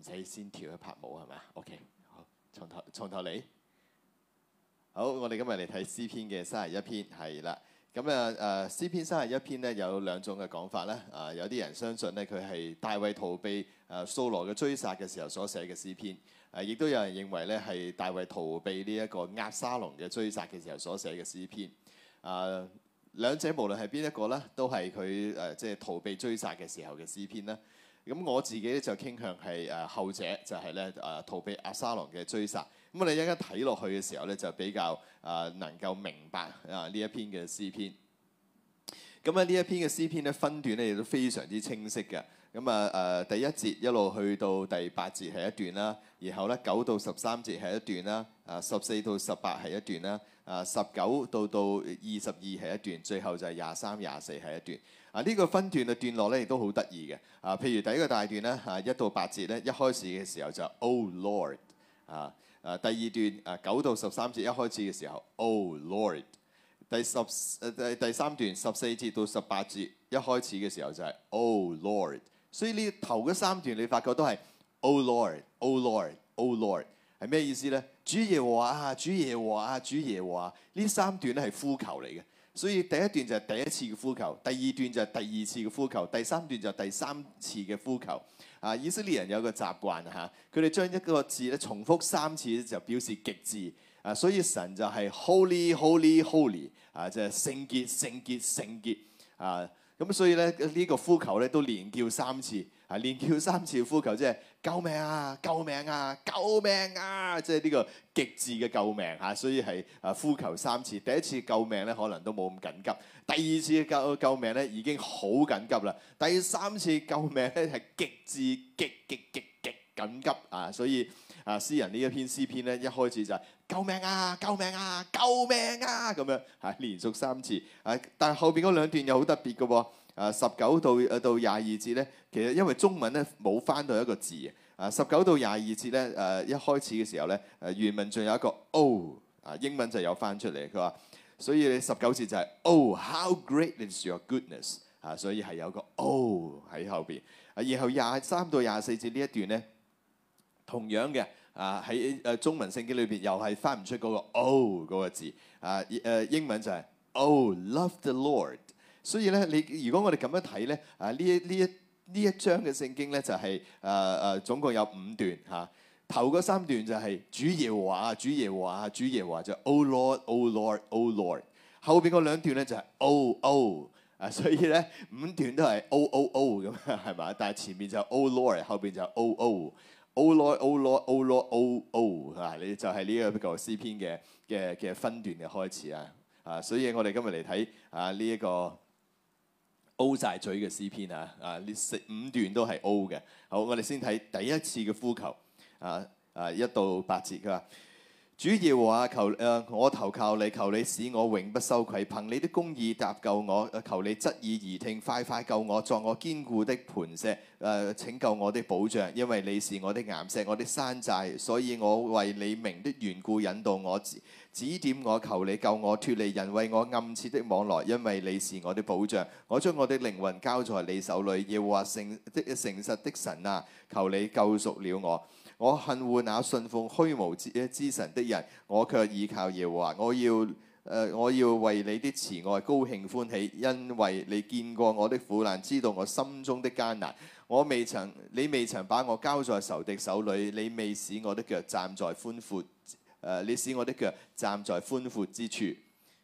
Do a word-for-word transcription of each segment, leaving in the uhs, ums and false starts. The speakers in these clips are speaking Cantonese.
使先跳一拍舞係咪啊 ？OK， 好，從頭從頭嚟。好，我哋今日嚟睇詩篇嘅三十一篇，係啦。咁啊誒詩篇三十一篇咧有兩種嘅講法咧。啊，有啲人相信咧佢係大衛逃避誒掃羅嘅追殺嘅時候所寫嘅詩篇。誒，亦都有人認為咧係大衛逃避呢一個押沙龍嘅追殺嘅時候所寫嘅詩篇。啊，兩者無論係邊一個咧，都係佢誒即係逃避追殺嘅時候嘅詩篇啦。咁我自己咧就傾向係誒後者，就係咧誒逃避押沙龍嘅追殺。咁我哋一陣間睇落去嘅時候咧，就比較誒能夠明白啊呢一篇嘅詩篇。咁啊呢一篇嘅詩篇咧分段咧亦都非常之清晰嘅。咁啊誒第一節一路去到第八節係一段啦，然後咧九到十三節係一段啦，啊十四到十八係一段啦，啊十九到到二十二係一段，最後就係廿三、廿四係一段。啊呢、這個分段嘅段落咧亦都好得意嘅。啊譬如第一個大段咧啊一到八節咧一開始嘅時候就 Oh Lord 啊。啊，第二段啊九到十三節一開始嘅時候 ，Oh Lord。第十誒第第三段十四節到十八節一開始嘅時候就係 Oh Lord。所以呢頭嗰三段你發覺都係 Oh Lord，Oh Lord，Oh Lord 係咩意思咧？主耶和華啊，主耶和華啊，主耶和華。呢三段咧係呼求嚟嘅。所以第一段就係第一次嘅呼求，第二段就係第二次嘅呼求，第三段就係第三次嘅呼求。啊，以色列人有個習慣嚇，佢哋將一個字咧重複三次就表示極致。啊，所以神就係 Holy Holy Holy 啊，即係聖潔聖潔聖潔啊。咁所以咧呢個呼求咧都連叫三次。啊，連叫三次呼求，即係救命啊！救命啊！救命啊！即係呢個極致嘅救命嚇，所以係啊呼求三次。第一次救命咧可能都冇咁緊急，第二次救救命咧已經好緊急啦。第三次救命咧係極致極極極極緊急啊！所以啊，詩人呢一篇詩篇咧一開始就係救命啊！救命啊！救命啊！咁樣嚇連續三次啊，但係後邊嗰兩段又好特別嘅喎。啊，十九到誒到廿二節咧，其實因為中文咧冇翻到一個字啊。十九到廿二節咧，誒、啊、一開始嘅時候咧，誒原文仲有一個 O 啊，英文就有翻出嚟。佢話，所以你十九節就係 Oh how great is your goodness 啊，所以係有個 O 喺後邊。啊，然後廿三到廿四節呢一段咧，同樣嘅啊喺誒中文聖經裏邊又係翻唔出嗰個 O 嗰個字啊。誒英文就係 Oh love the Lord。所以咧，你如果我哋咁樣睇咧，啊呢一呢一呢一章嘅聖經咧就係誒誒總共有五段嚇、啊。頭嗰三段就係主耶和華，主耶和華，主耶和華就 Oh Lord，Oh Lord，Oh Lord。後邊嗰兩段咧就係 Oh Oh 啊，所以咧五段都係 Oh Oh Oh 咁係嘛？但係前面就 Oh Lord，後邊就 Oh Oh，Oh Lord，Oh Lord，Oh Lord，Oh Oh 啊，你就係呢一個詩篇嘅嘅嘅分段嘅開始啊啊！所以我哋今日嚟睇啊呢一個。O 晒嘴嘅詩篇啊！啊，呢四五段都係 O 嘅。好，我哋先睇第一次嘅呼求啊啊，一到八節。佢話：主耶和華求誒、啊，我投靠你，求你使我永不羞愧。憑你的公義搭救我，求你側耳而聽，快快救我，作我堅固的磐石，誒、啊、拯救我的保障。因為你是我的岩石，我的山寨，所以我為你名的緣故引導我。指點我，求你救我脫離人為我暗設的網羅，因為你是我的保障。我將我的靈魂交在你手裏，耶和華誠的誠實的神啊，求你救贖了我。我恨惡那信奉虛無之之神的人，我卻倚靠耶和華。我要誒、呃，我要為你的慈愛高興歡喜，因為你見過我的苦難，知道我心中的艱難。我未曾，你未曾把我交在仇敵手裏，你未使我的腳站在寬闊。誒、uh，你使我的腳站在寬闊之處。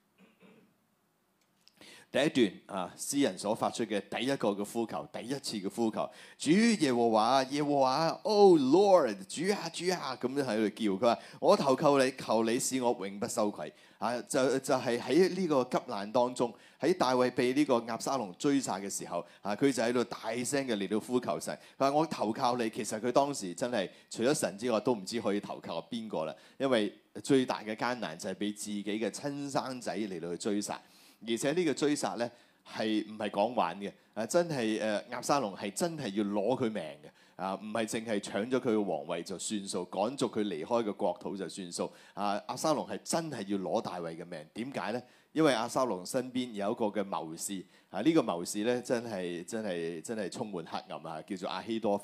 第一段啊，詩人所發出嘅第一個嘅呼求，第一次嘅呼求，主耶和華，耶和華，Oh Lord，主啊，主啊，咁樣喺度叫。佢話：我投靠你，求你使我永不羞愧。啊，就就係喺呢個急難當中，喺大衛被呢個押沙龍追殺嘅時候，啊，佢就喺度大聲嘅嚟到呼求神。佢話：我投靠你。其實佢當時真係除咗神之外，都唔知可以投靠邊個啦。因為最大嘅艱難就係俾自己嘅親生仔嚟到去追殺。而且呢個追殺咧係唔係講玩嘅？啊，真係誒押沙龍係真係要攞佢命嘅。啊，唔係淨係搶咗佢嘅皇位就算數，趕逐佢離開個國土就算數。啊，押沙龍係真係要攞大衛嘅命。點解咧？因為押沙龍身邊有一個嘅謀士。啊，呢個謀士咧真係真係真係充滿黑暗啊，叫做亞希多弗。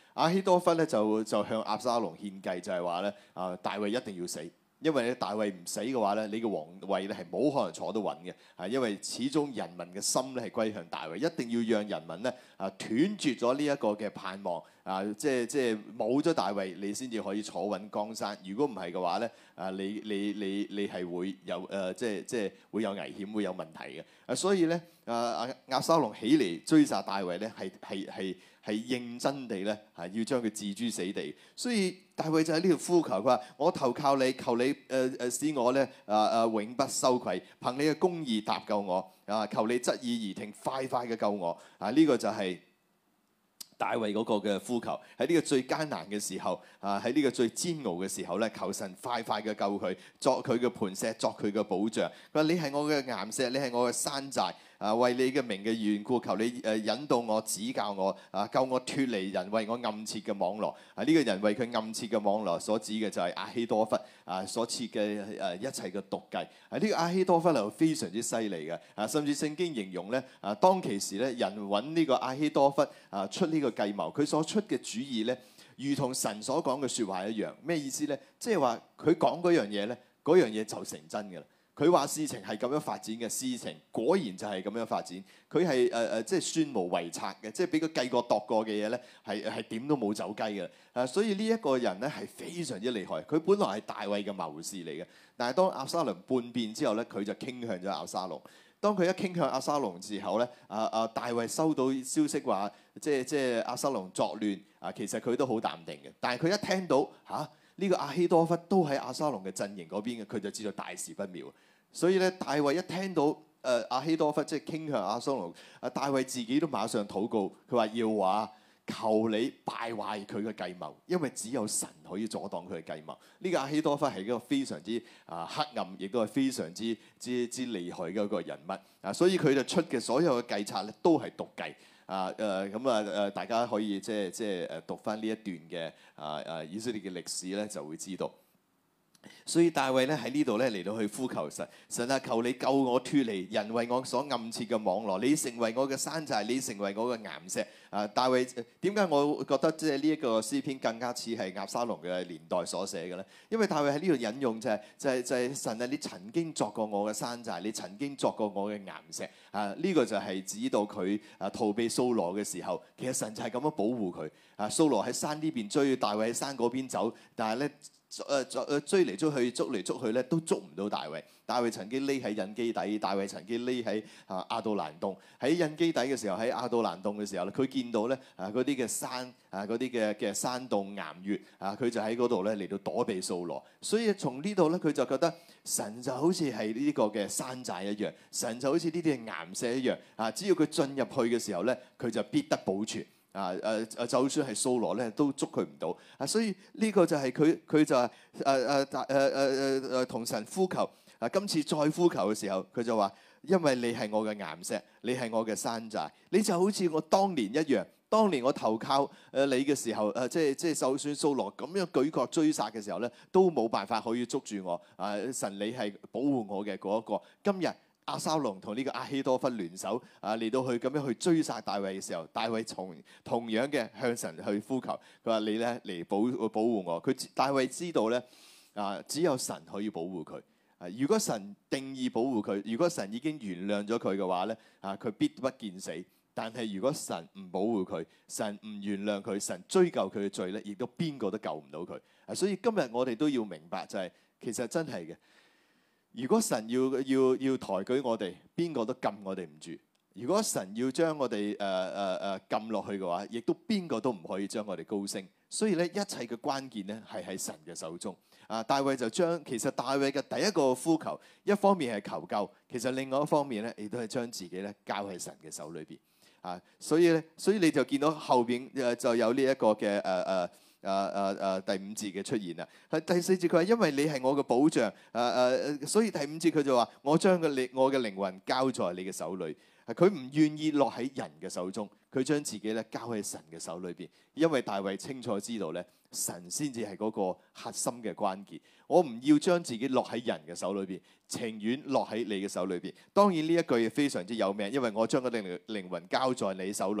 亞希多弗咧就就向押沙龍獻計，就係話咧啊，大衛一定要死。因為咧大衛唔死嘅話咧，你嘅皇位咧係冇可能坐得穩嘅，啊！因為始終人民嘅心咧係歸向大衛，一定要讓人民咧啊斷絕咗呢一個嘅盼望，啊！即係即係冇咗大衛，你先至可以坐穩江山。如果唔係嘅話咧，啊！你你你你係會有誒、呃、即係即係會有危險，會有問題嘅。啊！所以咧啊押沙龍起嚟追殺大衛咧，係係係係認真地咧係要將佢置諸死地。所以大衛就喺呢度呼求，佢話：我投靠你，求你誒誒、呃、使我咧啊啊永不羞愧，憑你嘅公義搭救我啊！求你側耳而聽，快快嘅救我啊！呢、這個就係大衛嗰個嘅呼求，喺呢個最艱難嘅時候啊，喺呢個最煎熬嘅時候咧，求神快快嘅救佢，作佢嘅磐石，作佢嘅保障。佢話：你係我嘅岩石，你係我嘅山寨。啊，為你嘅名嘅緣故，求你誒引導我、指教我，啊，救我脫離人為我暗設嘅網羅。啊，呢、這個人為佢暗設嘅網羅所指嘅就係亞希多弗啊所設嘅誒一切嘅毒計。啊，呢、這個亞希多弗係非常之犀利嘅。啊，甚至聖經形容咧，啊當其時咧，人揾呢個亞希多弗啊出呢個計謀，佢所出嘅主意咧，如同神所講嘅説話一樣。咩意思咧？即係話佢講嗰樣嘢咧，嗰樣嘢就成真㗎啦。佢話事情係咁樣發展嘅，事情果然就係咁樣發展。佢係誒誒，即係算無遺策嘅，即係俾佢計過度過嘅嘢咧，係係點都冇走雞嘅。啊，所以呢一個人咧係非常之厲害。佢本來係大衛嘅謀士嚟嘅，但係當押沙龍叛變之後咧，佢就傾向咗押沙龍。當佢一傾向押沙龍之後咧，啊啊大衛收到消息話，即係即係押沙龍作亂啊，其實佢都好淡定嘅。但係佢一聽到嚇呢、啊這個亞希多弗都喺押沙龍嘅陣營嗰邊嘅，佢就知道大事不妙。所以咧，大衛一聽到誒亞希多弗即係傾向押沙龍，啊大衛自己都馬上禱告，佢話要話求你敗壞佢嘅計謀，因為只有神可以阻擋佢嘅計謀。呢、這個亞希多弗係一個非常之啊黑暗，亦都係非常之之之厲害嘅一個人物啊，所以佢就出嘅所有嘅計策咧都係毒計啊誒咁啊誒，大家可以即係即係誒讀翻呢一段嘅啊啊以色列嘅歷史咧，就會知道。所以大衛咧喺呢度咧嚟到去呼求神，神啊，求你救我脫離人為我所暗設嘅網羅，你成為我嘅山寨，你成為我嘅岩石。啊，大衛點解我覺得即係呢一個詩篇更加似係押沙龍嘅年代所寫嘅咧？因為大衛喺呢度引用就係、是、就係、是、就係、是、神啊，你曾經作過我嘅山寨，你曾經作過我嘅岩石。啊，呢、這個就係指到佢啊逃避掃羅嘅時候，其實神就係咁樣保護佢。啊，掃羅喺山呢邊追，大衛喺山嗰邊走，但係咧。誒誒追嚟追去，捉嚟捉去咧，都捉唔到大衛。大衛曾經匿喺隱基底，大衛曾經匿喺啊亞杜蘭洞。喺隱基底嘅時候，喺亞杜蘭洞嘅時候咧，佢見到咧啊嗰啲嘅山啊嗰啲嘅嘅山洞岩穴啊，佢就喺嗰度咧嚟到躲避掃羅。所以從呢度咧，佢就覺得神就好似係呢個嘅山寨一樣，神就好似呢啲嘅岩石一樣啊。只要佢進入去嘅時候咧，佢就必得保存。啊誒誒，就算係掃羅咧，都捉佢唔到啊！所以呢個就係佢佢就係誒誒誒誒誒誒同神呼求啊！今次再呼求嘅時候，佢就話：因為你係我嘅岩石，你係我嘅山寨，你就好似我當年一樣。當年我投靠誒你嘅時候，誒即係即係就算掃羅咁樣舉國追殺嘅時候咧，都冇辦法可以捉住我啊！神你係保護我嘅嗰一個，今日。押沙龍同呢個亞希多弗聯手啊，嚟到去咁樣去追殺大衛嘅時候，大衛從同樣嘅向神去呼求，佢話你咧嚟保保護我。佢大衛知道咧啊，只有神可以保護佢。啊，如果神定義保護佢，如果神已經原諒咗佢嘅話咧，啊佢必不見死。但係如果神唔保護佢，神唔原諒佢，神追究佢嘅罪咧，亦都邊個都救唔到佢。啊，所以今日我哋都要明白就係、是，其實真係嘅。如果神要要要抬舉我哋，邊個都撳我哋唔住；如果神要將我哋誒誒誒撳落去嘅話，亦都邊個都唔可以將我哋高升。所以咧，一切嘅關鍵咧係喺神嘅手中。啊，大衛就將其實大衛嘅第一個呼求，一方面係求救，其實另外一方面咧，亦都係將自己咧交喺神嘅手裏邊。啊，所以咧，所以你就見到後邊誒就有呢一個嘅誒誒。呃呃誒誒誒第五節嘅出現啦，係第四節佢話因為你係我嘅保障，誒誒誒，所以第五節佢就話我將個靈我嘅靈魂交在你嘅手裏，佢唔願意落喺人嘅手中，佢將自己咧交喺神嘅手裏邊，因為大衛清楚知道咧，神先至係嗰個核心嘅關鍵，我唔要將自己落喺人嘅手裏邊，情願落喺你嘅手裏邊。當然呢一句非常之有名，因為我將個靈靈魂交在你手裏。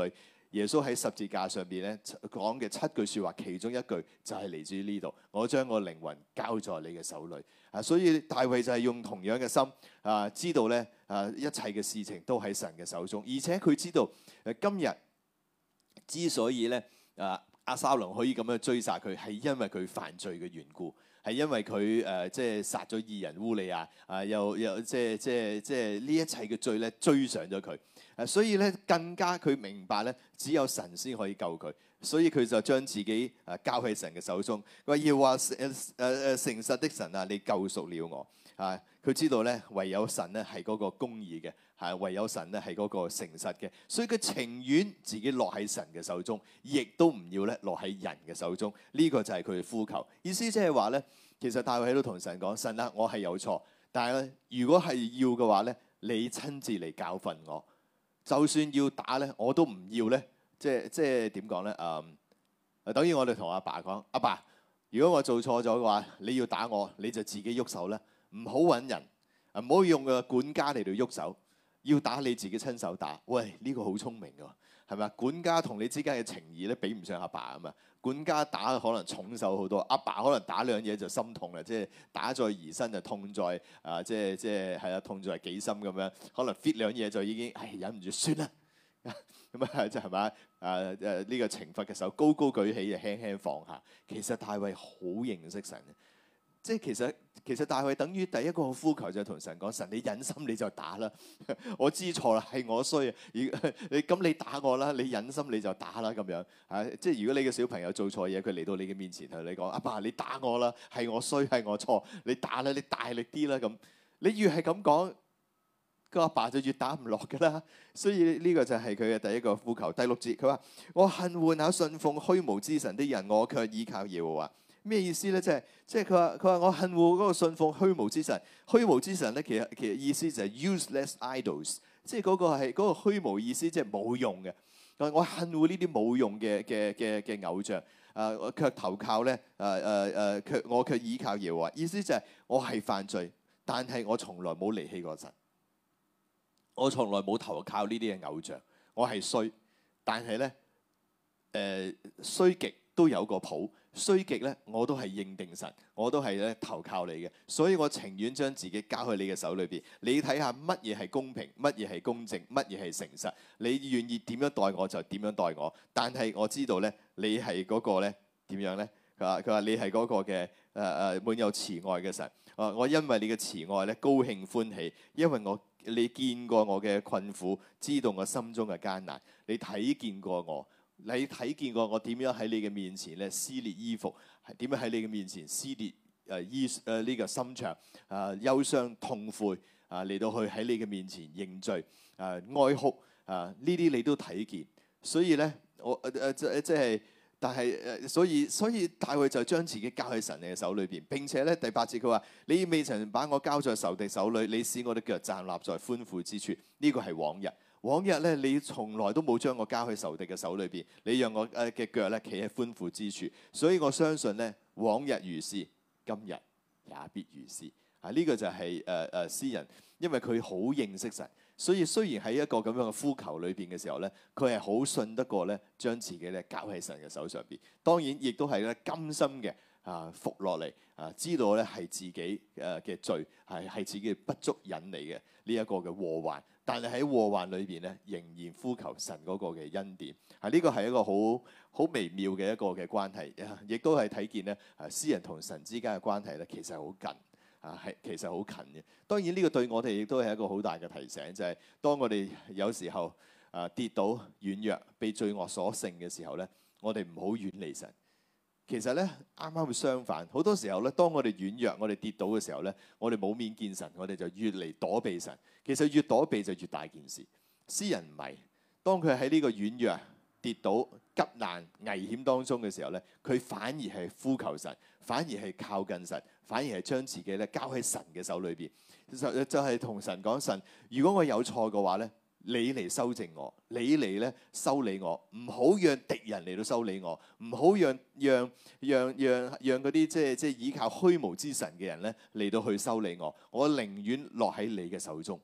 耶穌喺十字架上邊咧講嘅七句説話，其中一句就係嚟自於呢度：我將我靈魂交在你嘅手裏。啊，所以大衛就係用同樣嘅心啊，知道咧啊，一切嘅事情都喺神嘅手中，而且佢知道誒今日之所以咧啊押沙龍可以咁樣追殺佢，係因為佢犯罪嘅緣故。係因為佢誒、呃、即係殺咗義人烏利亞啊，又又即係即係即係呢一切嘅罪咧追上咗佢啊，所以咧更加佢明白咧，只有神先可以救佢，所以佢就將自己啊交喺神嘅手中。佢話要話誒誒誒誠實的神啊，你救贖了我啊！佢知道咧，唯有神咧係嗰個公義嘅，係唯有神咧係嗰個誠實嘅，所以佢情願自己落喺神嘅手中，亦都唔要咧落喺人嘅手中。呢、這個就係佢嘅呼求。意思即係話咧，其實大衛喺度同神講：神啊，我係有錯，但係咧，如果係要嘅話咧，你親自嚟教訓我。就算要打咧，我都唔要咧。即係即係點講咧？誒，等於我哋同阿爸講：阿爸，如果我做錯咗嘅話，你要打我，你就自己喐手啦。唔好揾人，唔好用個管家嚟到喐手，要打你自己親手打。喂，呢個好聰明㗎，係咪啊？管家同你之間嘅情義咧，比唔上阿爸啊嘛。管家打可能重手好多，阿爸可能打兩嘢就心痛啦，即係打在兒身就痛在啊，即係即係係啊，痛在己心咁樣。可能 fit 兩嘢就已經唉忍唔住算啦，咁啊即係咪啊？誒誒呢個懲罰嘅手高高舉起，就輕輕放下。其實大衛好認識神嘅。即係其實其實大衛等於第一個呼求就係同神講：神，你忍心你就打啦，我知錯啦，係我衰啊！你咁你打我啦，你忍心你就打啦咁樣啊！即係如果你嘅小朋友做錯嘢，佢嚟到你嘅面前同你講：阿爸，你打我啦，係我衰，係我錯，你打啦，你大力啲啦咁。你越係咁講，個阿爸就越打唔落㗎啦。所以呢個就係佢嘅第一個呼求。第六節佢話：我恨惡那信奉虛無之神的人，我卻依靠耶和華。咩意思咧？即係即係佢話佢話我恨惡嗰個信奉虛無之神。虛無之神咧，其實其實意思就係 useless idols，即係嗰個係嗰個虛無意思，即係冇用嘅。我恨惡呢啲冇用嘅嘅嘅嘅偶像。啊，我卻投靠咧，誒誒誒，卻我卻依靠耶和華。意思就係我係犯罪，但係我從來冇離棄過神。我從來冇投靠呢啲嘅偶像。我係衰，但係咧誒衰極都有個譜。衰極咧，我都係認定神，我都係咧投靠你嘅，所以我情願將自己交喺你嘅手裏邊。你睇下乜嘢係公平，乜嘢係公正，乜嘢係誠實。你願意點樣待我就點樣待我。但係我知道咧，你係嗰個咧點樣咧？佢話佢話你係嗰個嘅誒誒滿有慈愛嘅神。啊，我因為你嘅慈愛咧高興歡喜，因為我你見過我嘅困苦，知道我心中嘅艱難，你睇見過我。你睇見過我點樣喺你嘅面前咧撕裂衣服，係點樣喺你嘅面前撕裂誒衣誒呢個心腸啊憂傷痛悔啊嚟到去喺你嘅面前認罪啊哀哭啊呢啲你都睇見，所以咧我誒誒即即係，但係誒所以所以大衛就將自己交喺神嘅手裏邊。並且咧第八節佢話：你未曾把我交在仇敵手裏，你使我的腳站立在寬闊之處。呢個係往日。往日咧，你從來都冇將我交喺仇敵嘅手裏邊，你讓我誒嘅腳咧企喺寬闊之處，所以我相信咧，往日如是，今日也必如是。啊，呢、這個就係誒誒詩人，因為佢好認識神，所以雖然喺一個咁樣嘅呼求裏邊嘅時候咧，佢係好信得過咧，將自己咧交喺神嘅手上邊。當然，亦都係咧甘心嘅啊服落嚟啊，知道咧係自己誒嘅罪，係係自己嘅不足引嚟嘅呢一個嘅禍患。但係喺禍患裏邊咧，仍然呼求神嗰個嘅恩典，啊呢個係一個好好微妙嘅一個嘅關係，亦都係睇見咧，啊詩人同神之間嘅關係咧，其實好近，啊係其實好近嘅。當然呢個對我哋亦都係一個好大嘅提醒，就係當我哋有時候啊跌倒軟弱，被罪惡所勝嘅時候咧，我哋唔好遠離神。其實咧，啱啱會相反。好多時候咧，當我哋軟弱、我哋跌倒嘅時候咧，我哋冇面見神，我哋就越嚟躲避神。其實越躲避就越大件事。詩人唔係，當佢喺呢個軟弱、跌倒、急難、危險當中嘅時候咧，佢反而係呼求神，反而係靠近神，反而係將自己咧交喺神嘅手裏邊。就就係同神講：神，如果我有錯嘅話咧，你嚟修正我，你嚟咧修理我，唔好讓敵人嚟到修理我，唔好讓讓讓讓讓嗰啲即係即係依靠虛無之神嘅人咧嚟到去修理我。我寧願落喺你嘅手中。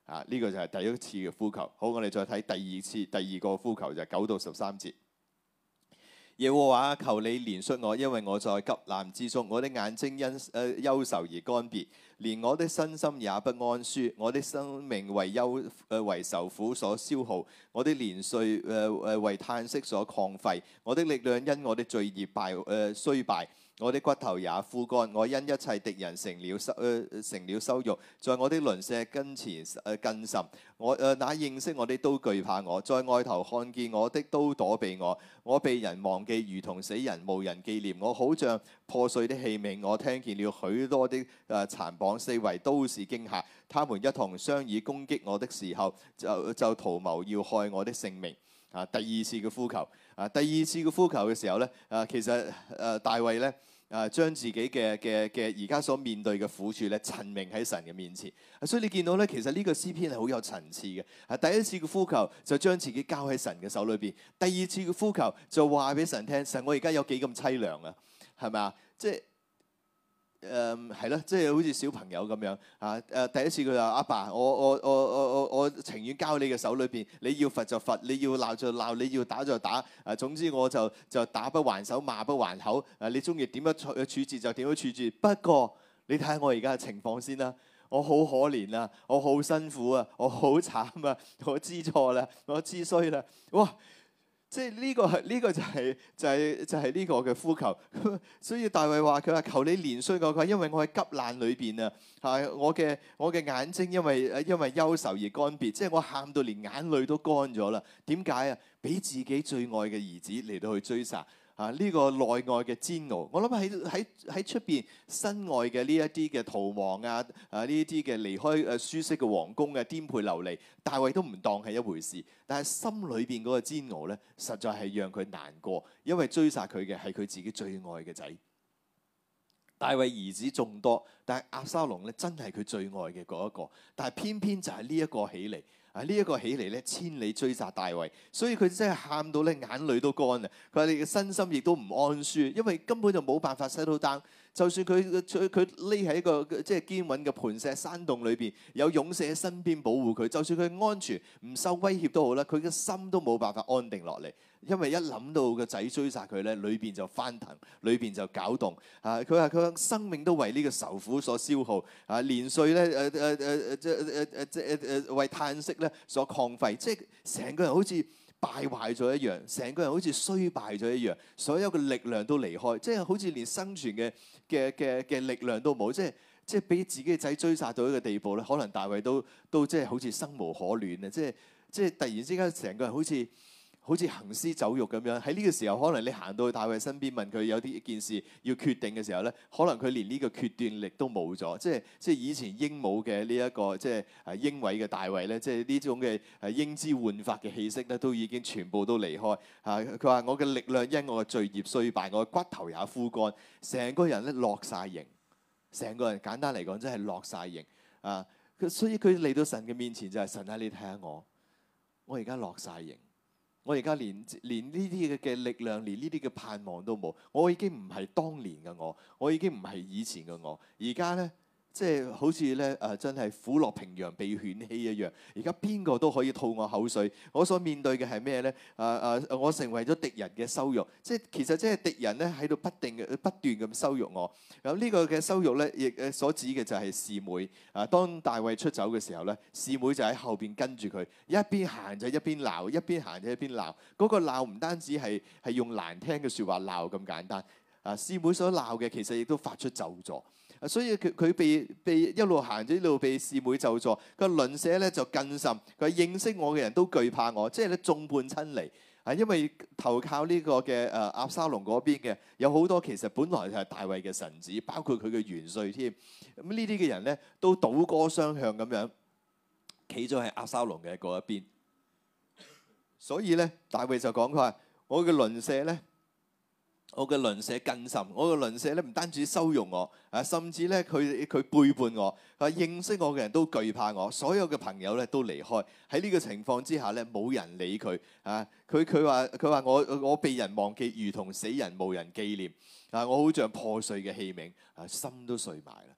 啊，呢、這個就係第一次嘅呼求。好，我哋再睇第二次第二個呼求就係九到十三節。耶和華，求你憐恤我，因為我在急難之中，我的眼睛因誒憂愁而乾癟，連我的身心也不安舒。我的生命為憂誒為愁苦所消耗，我的年歲誒誒為嘆息所曠廢，我的力量因我的罪孽敗誒衰敗。我的骨頭也枯乾，我因一切敵人成了羞、呃、成了羞辱，在我的鄰舍跟前誒、呃、更甚。我誒、呃、那認識我的都懼怕我，在外頭看見我的都躲避我。我被人忘記，如同死人，無人紀念我，好像破碎的器皿。我聽見了許多的誒殘綁，四圍都是驚嚇。他們一同商議攻擊我的時候，就就圖謀要害我的性命。啊，第二次嘅呼求，啊，第二次嘅呼求嘅時候咧，啊，其實誒、啊、大衛咧，啊，將自己嘅嘅嘅而家所面對嘅苦處咧，陳明喺神嘅面前。啊，所以你見到咧，其實呢個詩篇係好有層次嘅。啊，第一次嘅呼求就將自己交喺神嘅手裏邊，第二次嘅呼求就話俾神聽，神我而家有幾咁凄涼啊，係咪啊？即係。誒係咯，即係好似小朋友咁樣啊！誒第一次佢話：阿爸，我我我我我我情願交你嘅手裏邊，你要罰就罰，你要鬧就鬧，你要打就打。誒總之我就就打不還手，罵不還口。誒你中意點樣處處置就點樣處置。不過你睇下我而家嘅情況先啦，我好可憐啊，我好辛苦啊，我好慘啊，我知錯啦，我知衰啦，哇！即係呢個係呢個就係就係就係呢個嘅呼求，所以大衛話佢話求你憐恤我，佢話因為我喺急難裏邊啊，係我嘅我嘅眼睛因為因為憂愁而乾癟，即係我喊到連眼淚都乾咗啦。點解啊？俾自己最愛嘅兒子嚟到去追殺。啊！呢、這個內外嘅煎熬，我諗喺喺喺出邊身外嘅呢一啲嘅逃亡啊，啊呢一啲嘅離開誒舒適嘅皇宮嘅顛沛流離，大衛都唔當係一回事。但係心裏邊嗰個煎熬咧，實在係讓佢難過，因為追殺佢嘅係佢自己最愛嘅仔。大衛兒子眾多，但係押沙龍咧真係佢最愛嘅嗰一個，但係偏偏就係呢一個起嚟。啊！呢、這、一個起嚟咧，千里追殺大衛，所以佢真係喊到咧眼淚都乾啊！佢話你嘅身心亦都唔安舒，因為根本就冇辦法 settle down。就算佢佢佢匿喺一個即係堅穩嘅磐石山洞裏邊，有勇士喺身邊保護佢，就算佢安全唔受威脅都好啦，佢嘅心都冇辦法安定落嚟，因為一諗到個仔追殺佢咧，裏邊就翻騰，裏邊就攪動。啊！佢話佢生命都為呢個愁苦所消耗。啊！年歲咧誒誒誒誒即誒誒即誒誒為嘆息咧所曠廢，即係成個人好似敗壞咗一樣，成個人好似衰敗咗一樣，所有嘅力量都離開，即係好似連生存嘅嘅嘅嘅力量都冇，即係即係俾自己嘅仔追殺到一個地步咧，可能大衛都都即係好似生無可戀啊！即係即係突然之間成個人好似好似行屍走肉咁樣。喺呢個時候，可能你行到去大衛身邊問佢有啲件事要決定嘅時候咧，可能佢連呢個決斷力都冇咗。即係即係以前英武嘅呢一個即係誒英偉嘅大衛咧，即係呢種嘅誒英姿煥發嘅氣息咧，都已經全部都離開。啊，佢話我嘅力量因我嘅罪孽衰敗，我嘅骨頭也枯乾，成個人咧落晒形，成個人簡單嚟講真係落晒形啊！所以佢嚟到神嘅面前就係、是、神啊，你睇下我，我而家落晒形。我而家連連呢啲嘅嘅力量，連呢啲嘅盼望都冇。我已經唔係當年嘅我，我已經唔係以前嘅我。而家咧，即係好似咧誒，真係虎落平陽被犬欺一樣。而家邊個都可以吐我口水。我所面對嘅係咩咧？誒、呃、誒，我成為咗敵人嘅羞辱。即係其實即係敵人咧喺度不定嘅不斷咁羞辱我。咁呢個嘅羞辱咧，亦誒所指嘅就係示每。啊，當大衛出走嘅時候咧，示每就喺後邊跟住佢，一邊行就一邊鬧，一邊行就一邊鬧。嗰、那個鬧唔單止係係用難聽嘅説話鬧咁簡單。啊，示每所鬧嘅其實亦都發出咒詛。所以佢佢被被一路行咗一路被示每咒詛。個鄰舍咧就更甚，佢認識我嘅人都懼怕我，即係咧眾叛親離。啊，因為投靠呢個嘅誒押沙龍嗰邊嘅有好多其實本來就係大衛嘅臣子，包括佢嘅元帥添。咁呢啲嘅人咧都倒戈相向咁樣企咗喺押沙龍嘅嗰一邊。所以咧，大衛就講佢話：我嘅鄰舍咧。我嘅鄰舍更甚，我嘅鄰舍咧唔單止羞辱我，啊，甚至咧佢佢背叛我，啊，認識我嘅人都懼怕我，所有嘅朋友咧都離開。喺呢個情況之下咧，冇人理佢，啊，佢佢話佢話我我被人忘記，如同死人，無人紀念，啊，我好像破碎嘅器皿，啊，心都碎埋啦。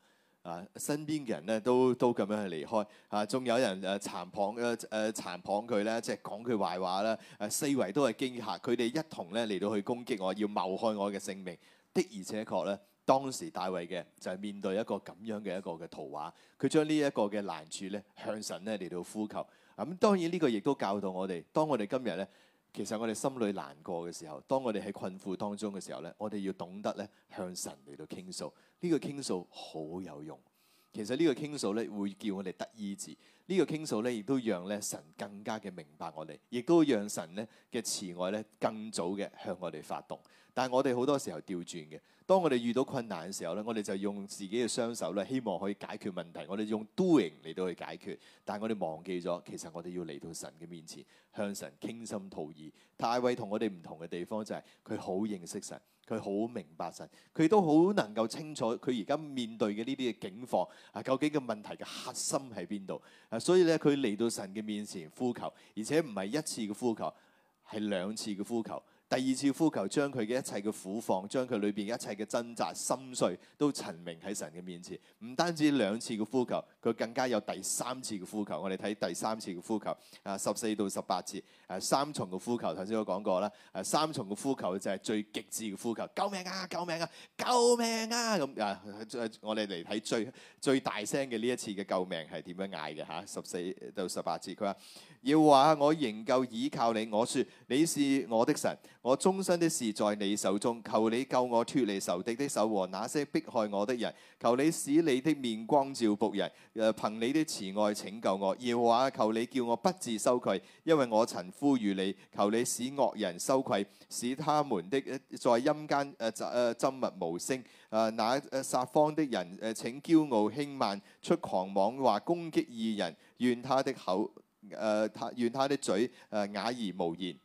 啊，身邊嘅人咧都都咁樣去離開啊，仲有人誒殘謗誒誒殘謗佢咧，即係講佢壞話啦。誒四圍都係驚嚇，佢哋一同咧嚟到去攻擊我，要謀害我嘅性命。的而且確咧，當時大衛嘅就係面對一個咁樣嘅一個嘅圖畫，佢將呢一個嘅難處咧向神咧嚟到呼求。咁當然呢個亦都教導我哋，當我哋今日咧，其實我哋心裏難過嘅時候，當我哋喺困苦當中嘅時候咧，我哋要懂得咧向神嚟到傾訴。呢個傾訴好有用。其實呢個傾訴咧會叫我哋得醫治。呢個傾訴咧亦都讓咧神更加嘅明白我哋，亦都讓神咧嘅慈愛咧更早嘅向我哋發動。但係我哋好多時候調轉嘅，當我哋遇到困難嘅時候咧，我哋就用自己嘅雙手咧，希望可以解決問題。我哋用 doing 嚟到去解決，但係我哋忘記咗，其實我哋要嚟到神嘅面前，向神傾心吐意。大衛同我哋唔同嘅地方就係佢好認識神，佢好明白神，佢都好能夠清楚佢而家面對嘅呢啲嘅境況啊，究竟嘅問題嘅核心喺邊度啊？所以咧，佢嚟到神嘅面前呼求，而且唔係一次嘅呼求，係兩次嘅呼求。第二次呼求，將佢嘅一切嘅苦況，將佢裏邊一切嘅掙扎、心碎都陳明喺神嘅面前。唔單止兩次嘅呼求，佢更加有第三次嘅呼求。我哋睇第三次嘅呼求，啊十四到十八節，誒三重嘅呼求。頭先我講過啦，誒三重嘅呼求就係最極致嘅呼求，救命啊！救命啊！救命啊！咁啊，我哋嚟睇最最大聲嘅呢一次嘅救命係點樣嗌嘅嚇？十四到十八節，佢話：要話我仍舊倚靠你，我説你是我的神。我終身的事在你手中，求你救我脫離仇敵的手和那些迫害我的人。求你使你的面光照僕人，誒憑你的慈愛拯救我。耶和華，求你叫我不致羞愧，因為我曾呼籲你。求你使惡人羞愧，使他們的在陰間誒誒緘默無聲。誒那誒撒謊的人誒請驕傲輕慢，出狂妄話攻擊義人。願他的口誒他願他的嘴誒啞而無言。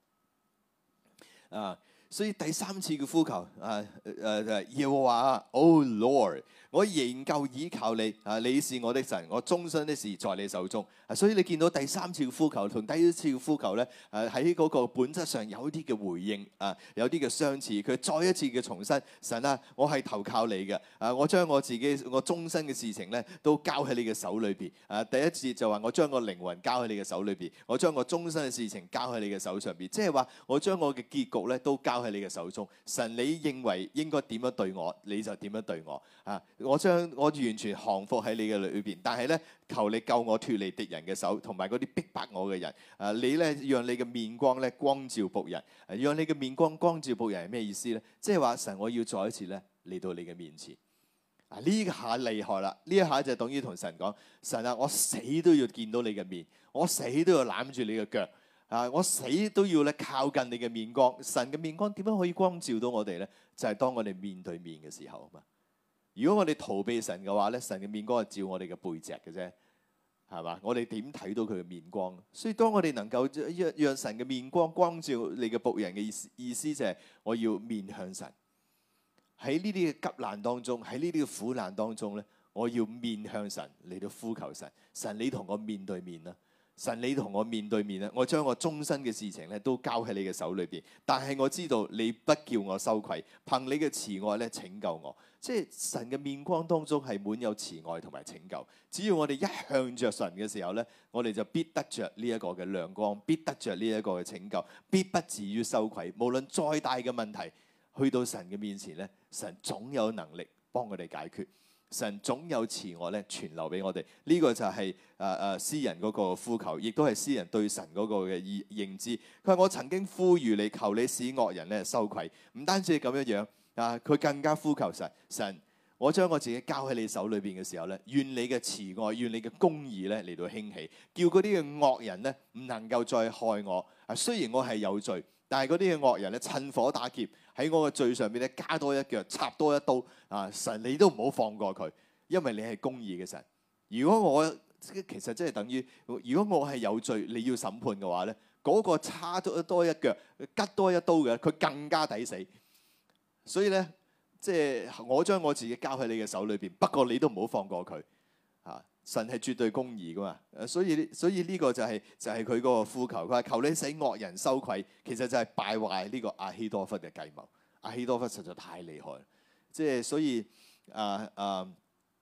啊，所以第三次嘅呼求，啊誒誒，耶和華，Oh Lord，我仍舊倚靠你，啊，你是我的神，我終身的事在你手中。啊，所以你見到第三次嘅呼求同第一次嘅呼求咧，誒喺嗰個本質上有啲嘅回應，啊，有啲嘅相似。佢再一次嘅重申，神啊，我係投靠你嘅，啊，我將我自己我終身嘅事情咧都交喺你嘅手裏邊。啊，第一次就話我將個靈魂交喺你嘅手裏邊，我將我終身嘅事情交喺你嘅手上邊，即係話我將我嘅結局咧都交喺你嘅手中。神，你認為應該點樣對我，你就點樣對我。啊，我將我完全降服喺你嘅裏邊，但係咧，求你救我脫離敵人嘅手，同埋嗰啲逼迫我嘅人。啊，你咧讓你嘅面光咧光照僕人，啊，讓你嘅面光光照僕人係咩意思咧？即係話神，我要再一次咧嚟到你嘅面前。啊，呢下厲害啦！呢一下就等於同神講：神啊，我死都要見到你嘅面，我死都要攬住你嘅腳。啊！我死都要咧靠近你嘅面光。神嘅面光點樣可以光照到我哋咧？就係當我哋面對面嘅時候啊嘛。如果我哋逃避神嘅話咧，神嘅面光係照我哋嘅背脊嘅啫，係嘛？我哋點睇到佢嘅面光？所以當我哋能夠讓讓神嘅面光光照你嘅僕人嘅意思，意思就係我要面向神。喺呢啲嘅急難當中，喺呢啲嘅苦難當中咧，我要面向神嚟到呼求神。神，你同我面對面啦。神，你同我面對面咧，我將我終身嘅事情咧都交喺你嘅手裏邊。但係我知道你不叫我羞愧，憑你嘅慈愛咧拯救我。即係神嘅面光當中係滿有慈愛同埋拯救。只要我哋一向着神嘅時候咧，我哋就必得着呢一個嘅亮光，必得着呢一個嘅拯救，必不至於羞愧。無論再大嘅問題，去到神嘅面前咧，神總有能力幫我哋解決。神總有慈愛咧，傳留俾我哋。呢、這個就係誒誒詩人嗰個呼求，亦都係詩人對神嗰個嘅認認知。佢話：我曾經呼籲你，求你使惡人咧羞愧。唔單止係咁樣樣啊，佢更加呼求神。神，我將我自己交喺你手裏邊嘅時候咧，願你嘅慈愛，願你嘅公義咧嚟到興起，叫嗰啲嘅惡人咧唔能夠再害我。啊，雖然我係有罪，但係嗰啲嘅惡人咧趁火打劫。喺我嘅罪上邊咧加多一腳，插多一刀啊！神，你都唔好放過佢，因為你係公義嘅神。如果我其實即係等於，如果我係有罪，你要審判嘅話咧，嗰、那個插多多一腳，吉多一刀嘅，佢更加抵死。所以咧，即係我將我自己交喺你嘅手裏邊，不過你都唔好放過佢啊！神係絕對公義噶嘛，所以所以呢個就係、是、就係佢嗰個呼求。佢話：求你使惡人羞愧，其實就係敗壞呢個亞希多弗嘅計謀。亞希多弗實在太厲害，即係所以啊啊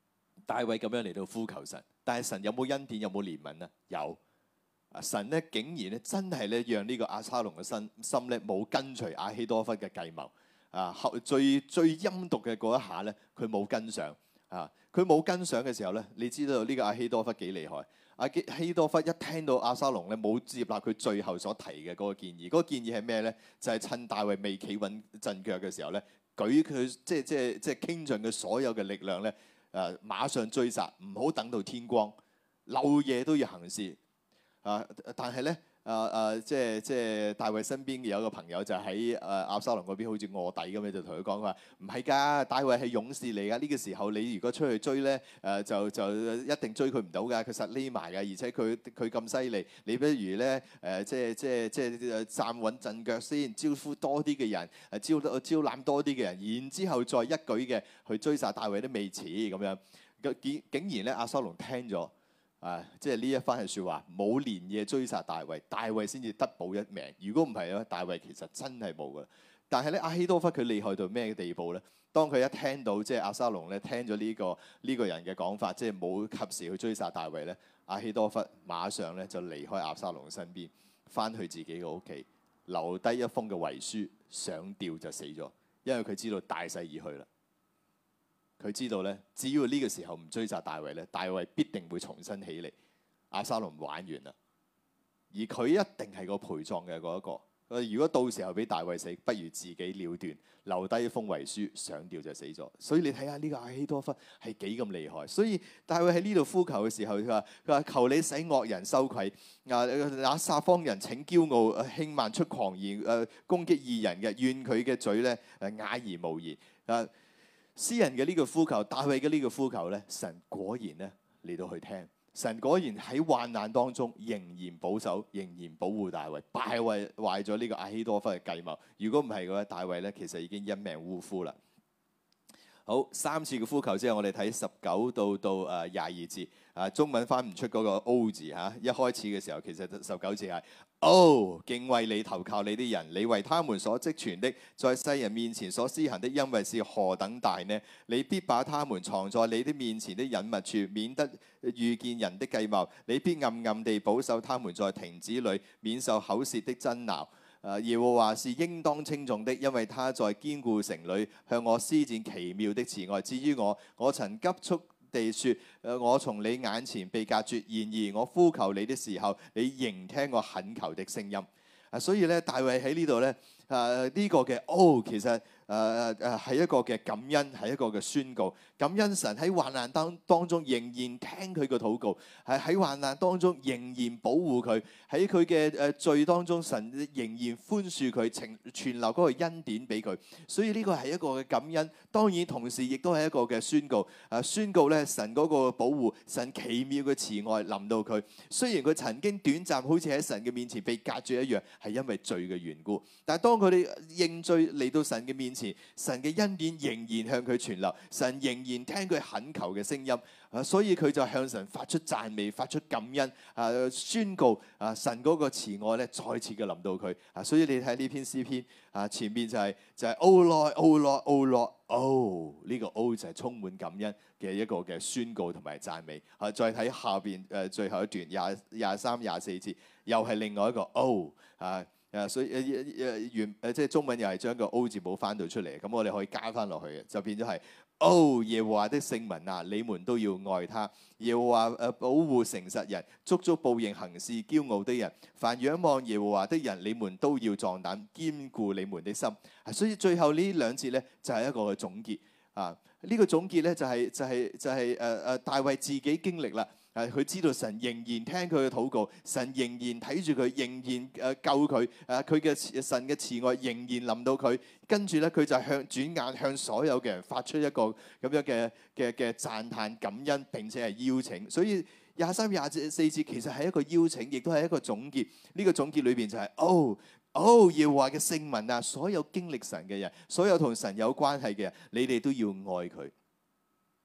大衛咁樣嚟到呼求神，但係神有冇恩典，有冇憐憫呢？有。啊！神咧竟然咧真係咧讓呢個押沙龍嘅心心咧冇跟隨亞希多弗嘅計謀啊！後最最陰毒嘅嗰一下咧，佢冇跟上啊！佢冇跟上嘅時候咧，你知道呢個亞希多弗幾厲害？亞希多弗一聽到押沙龍咧冇接納佢最後所提嘅嗰個建議，嗰、嗰個建議係咩咧？就係、是、趁大衛未企穩陣腳嘅時候咧，舉佢即係即係即係傾盡佢所有嘅力量咧，誒、啊、馬上追殺，唔好等到天光，漏夜都要行事。啊！但係咧，啊啊，即係即係大衛身邊有一個朋友就喺誒押沙龍嗰邊，好似臥底咁樣，就同佢講佢話：唔係㗎，大衛係勇士嚟㗎。呢、這個時候你如果出去追咧，誒、呃、就就一定追佢唔到㗎。佢實匿埋㗎，而且佢佢咁犀利，你不如咧誒、呃、即係即係即係站穩陣腳先，招呼多啲嘅人，誒招招攬多啲嘅人，然之後再一舉嘅去追殺大衛都未遲咁樣。竟竟然咧，押沙龍聽咗。啊！即係呢一番嘅説話，冇連夜追殺大衛，大衛先至得保一命。如果唔係咧，大衛其實真係冇噶。但係咧，亞希多弗佢厲害到咩地步咧？當佢一聽到即係押沙龍咧聽咗呢、呢個呢、呢個人嘅講法，即係冇及時去追殺大衛咧，亞希多弗馬上咧就離開押沙龍身邊，翻去自己嘅屋企，留低一封嘅遺書，上吊就死咗，因為佢知道大勢已去啦。佢知道咧，只要呢個時候唔追殺大衛咧，大衛必定會重新起嚟，押沙龍玩完啦。而佢一定係個陪葬嘅嗰一個。如果到時候俾大衛死，不如自己了斷，留低一封遺書，上吊就死咗。所以你睇下呢個亞希多弗係幾咁厲害。所以大衛喺呢度呼求嘅時候，佢話：佢話求你使惡人羞愧，啊那撒謊人請驕傲輕慢出狂言，誒攻擊義人嘅，願佢嘅嘴咧誒啞而無言。啊！詩人嘅呢個呼求，大衛嘅呢個呼求咧，神果然咧嚟到去聽，神果然喺患難當中仍然保守，仍然保護大衛，敗壞壞咗呢個亞希多弗嘅計謀。如果唔係嘅話，大衛咧其實已經因命嗚呼啦。好，三次嘅呼求之後，我哋睇十九到到誒廿二節。啊，中文翻唔出嗰個 O 字嚇、啊。一開始嘅時候，其實十九節係哦，敬畏你投靠你啲人，你為他們所積存的，在世人面前所施行的恩惠是何等大呢？你必把他們藏在你的面前的隱密處，免得遇見人的計謀。你必暗暗地保守他們在亭子裏，免受口舌的爭鬧。誒，耶和華是應當稱頌的，因為他在堅固城裏向我施展奇妙的慈愛。至於我，我曾急速地說：誒，我從你眼前被隔絕。然而我呼求你的時候，你仍聽我懇求的聲音。啊，所以咧，大衛喺呢度咧，誒、啊、呢、這個嘅哦，其實。誒誒誒係一個嘅感恩，係一個嘅宣告。感恩神喺患難當當中仍然聽佢嘅禱告，係喺患難當中仍然保護佢，喺佢嘅誒罪當中，神仍然寬恕佢，存存留嗰個恩典俾佢。所以呢個係一個嘅感恩，當然同時亦都係一個嘅宣告。誒宣告咧，神嗰個保護，神奇妙嘅慈愛臨到佢。雖然佢曾經短暫好似喺神嘅面前被隔絕一樣，係因為罪嘅緣故。但係當佢哋認罪嚟到神嘅面前，神嘅恩典仍然向佢傳流，神仍然聽佢懇求嘅聲音，啊，所以佢就向神發出讚美，發出感恩，啊，宣告啊，神嗰個慈愛咧再次嘅臨到佢，啊，所以你睇呢篇詩篇，啊，前面就係、是、就係 O Lord，O Lord，O Lord，O 呢個 O 就係充滿感恩嘅一個嘅宣告同埋讚美，啊，再睇下邊誒最後一段廿廿三廿四節，又係另外一個 O 啊。誒，所以誒誒原誒即係中文又係將個 O 字冇翻到出嚟，咁我哋可以加翻落去嘅，就變咗係哦，耶和華的聖民啊，你們都要愛他。耶和華誒保護誠實人，足足報應行事驕傲的人。凡仰望耶和華的人，你們都要壯膽，堅固你們的心。所以最後呢兩節咧就係一個嘅總結啊！呢個總結咧就係就係就係誒誒大衛自己經歷啦。誒，佢知道神仍然聽佢嘅禱告，神仍然睇住佢，仍然誒救佢。誒，佢嘅神嘅慈愛仍然臨到佢。跟住咧，佢就向轉眼向所有嘅人發出一個咁樣嘅嘅嘅讚歎感恩，並且係邀請。所以廿三廿四節其實係一個邀請，亦都係一個總結。呢個總結裏邊就係哦哦，耶和華嘅聖民啊，所有經歷神嘅人，所有同神有關係嘅人，你哋都要愛佢。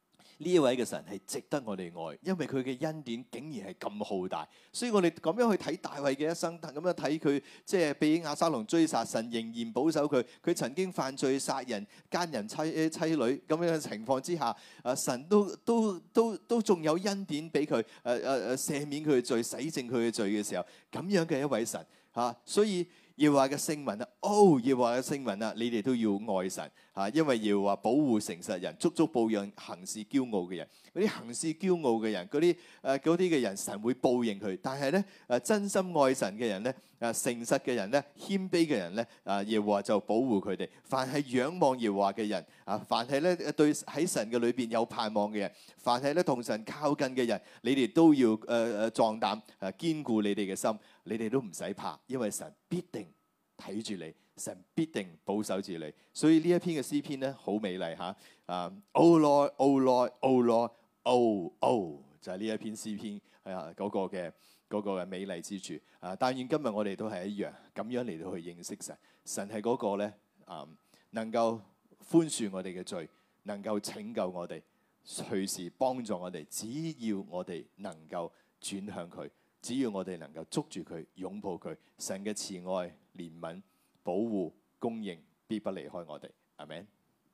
呢一位嘅神係值得我哋愛，因為佢嘅恩典竟然係咁浩大，所以我哋咁樣去睇大衛嘅一生，咁樣睇佢即係被押沙龍追殺，神仍然保守佢。佢曾經犯罪殺人、奸人妻妻女咁樣嘅情況之下，誒神都都都都仲有恩典俾佢，誒誒誒赦免佢嘅罪、洗淨佢嘅罪嘅時候，咁樣嘅一位神嚇、啊，所以。耶和華嘅聖民啊，哦，耶和華嘅聖民啊，你哋都要愛神嚇，因為耶和華保護誠實人，足足報應行事驕傲嘅人。嗰啲行事驕傲嘅人，嗰啲誒嗰啲嘅人，神會報應佢。但係咧誒，真心愛神嘅人咧，誒誠實嘅人咧，謙卑嘅人咧，啊耶和華就保護佢哋。凡係仰望耶和華嘅人啊，凡係咧對喺神嘅裏邊有盼望嘅人，凡係咧同神靠近嘅人，你哋都要誒誒壯膽誒，堅固你哋嘅心。你哋都唔使怕，因為神必定睇住你，神必定保守住你。所以呢一篇嘅詩篇咧，好美麗嚇。啊 ，Oh Lord, Oh Lord, Oh Lord, Oh Oh，就係呢一篇詩篇係啊嗰個嘅嗰個嘅美麗之處。啊，但願今日我哋都係一樣咁樣嚟到去認識神。神係嗰個咧啊，能夠寬恕我哋嘅罪，能夠拯救我哋，隨時幫助我哋。只要我哋能夠轉向佢。只要我哋能夠捉住佢、擁抱佢，神嘅慈愛、憐憫、保護、供應，必不離開我哋。阿們。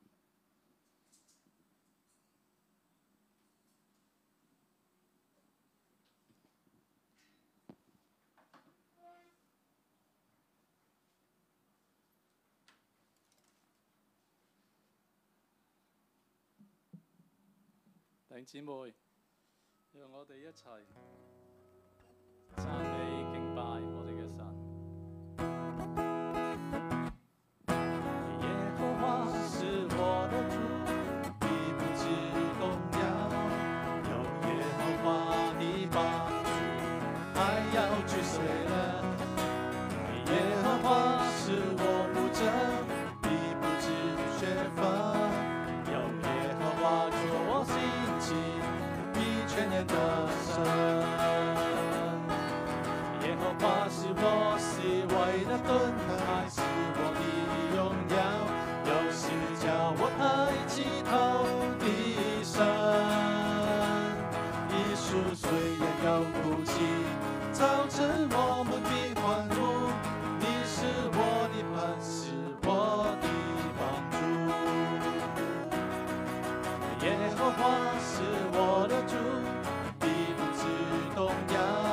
弟兄姊妹，讓我哋一齊讚美敬拜我哋嘅神。耶和華是我的主，必不致動搖。有耶和華的幫助，還要追隨人。耶和華是我牧者，必不致缺乏。有耶和華作我興起，必全然得勝。耶和華是我四圍的盾牌，是我的榮耀，有時叫我抬起頭的神。一宿雖然要哭泣，早晨我們必歡呼。你是我的磐石，我的幫助。耶和華是我的主，必不致動搖。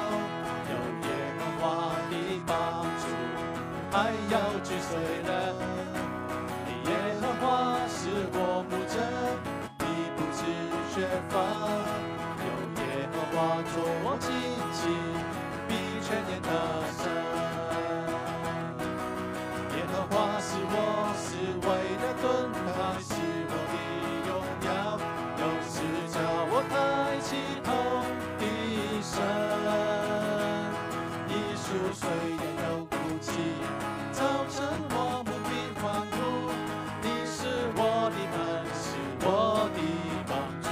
還要追隨人，耶和華是我牧者，必不致缺乏。有耶和華作我旌旗，必全然得勝。耶和華是我四圍的盾牌，是我的榮耀，有時叫我抬起頭的神。一宿雖然要哭泣，早晨我們必歡呼。你是我的磐石，我的幫助。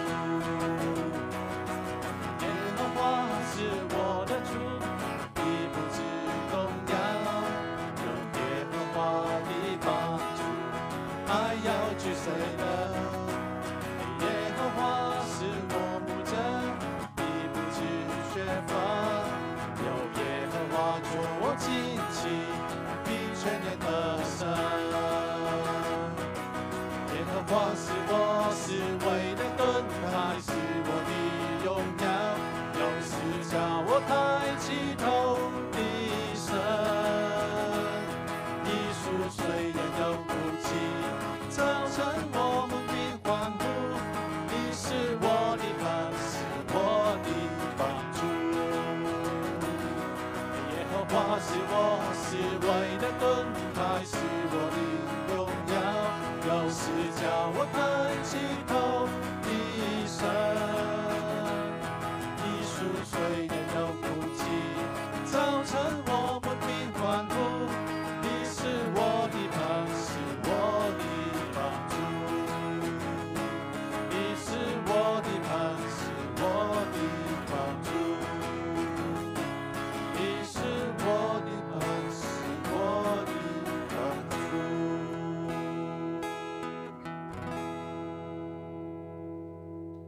耶和華是我的主，必不致動搖。有耶和華的幫助，還要追隨人。耶和華是我牧者，必不致缺乏。有耶和華作我旌旗，必全然得勝。耶和華是我四圍的盾牌，是我的榮耀，有時叫我抬起頭的神。一宿雖然要哭泣，早晨我們必歡呼。你是我的磐石，我的幫助。耶和華是我四圍的盾牌，是我的榮耀，有時叫我抬起頭的神。一宿雖然要哭泣，早晨我們必歡呼。你是我的磐石，我的幫助。你是我的磐石，我的幫助。你是我的磐石，我的幫助。